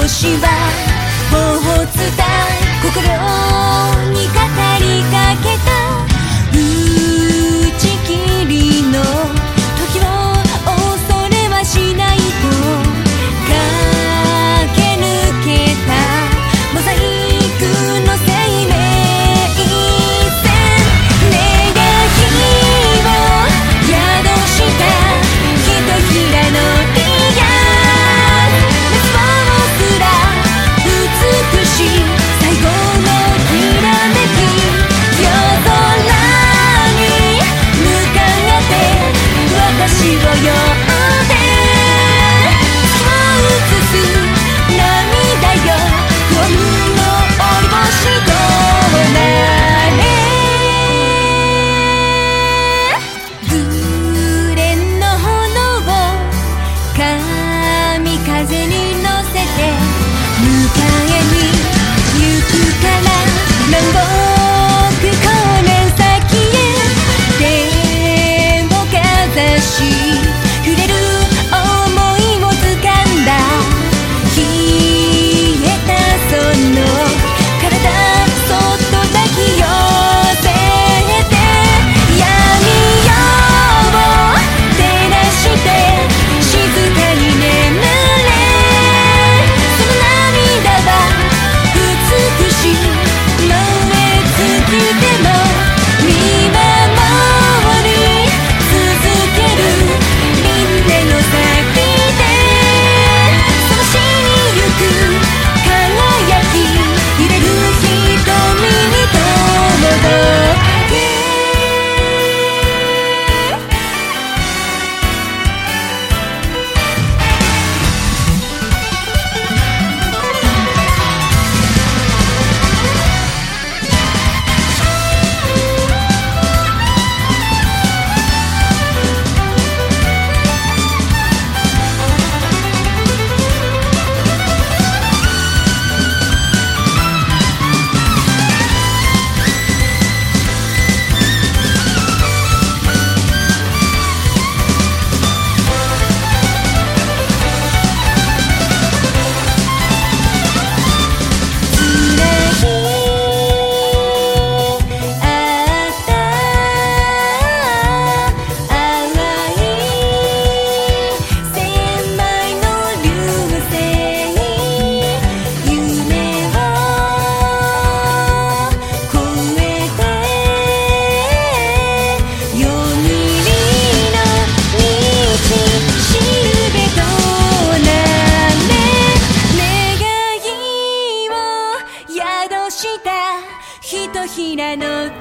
星は頬を伝え心に語りかけた打ち切りの時を恐れはしないと駆け抜けたモザイクの生命線願いを宿したひとひらのリアル滅亡すら美しい最後のきらめき夜空に向かって私を呼んで月を映す涙よ不安の折星となれ紅の炎を神風に乗せて迎えに行くから南北光年先へ手をかざし触れる想いを掴んだ冷えたその体そっと抱き寄せて闇夜を照らして静かに眠れその涙は美しい燃え尽きても見守り続ける輪廻の先で探しに行く輝き揺れる瞳に届けひとひらのディア滅亡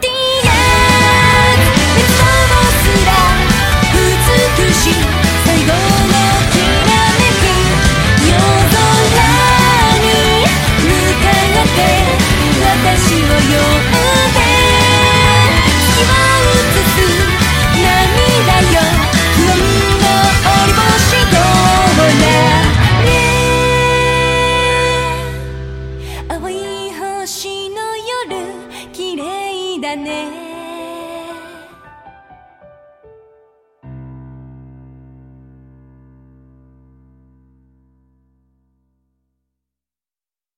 すら美しい最後のきらめき夜空に向かって私を呼んで月を映す涙よ不安の折星となれ青い星の夜綺麗だね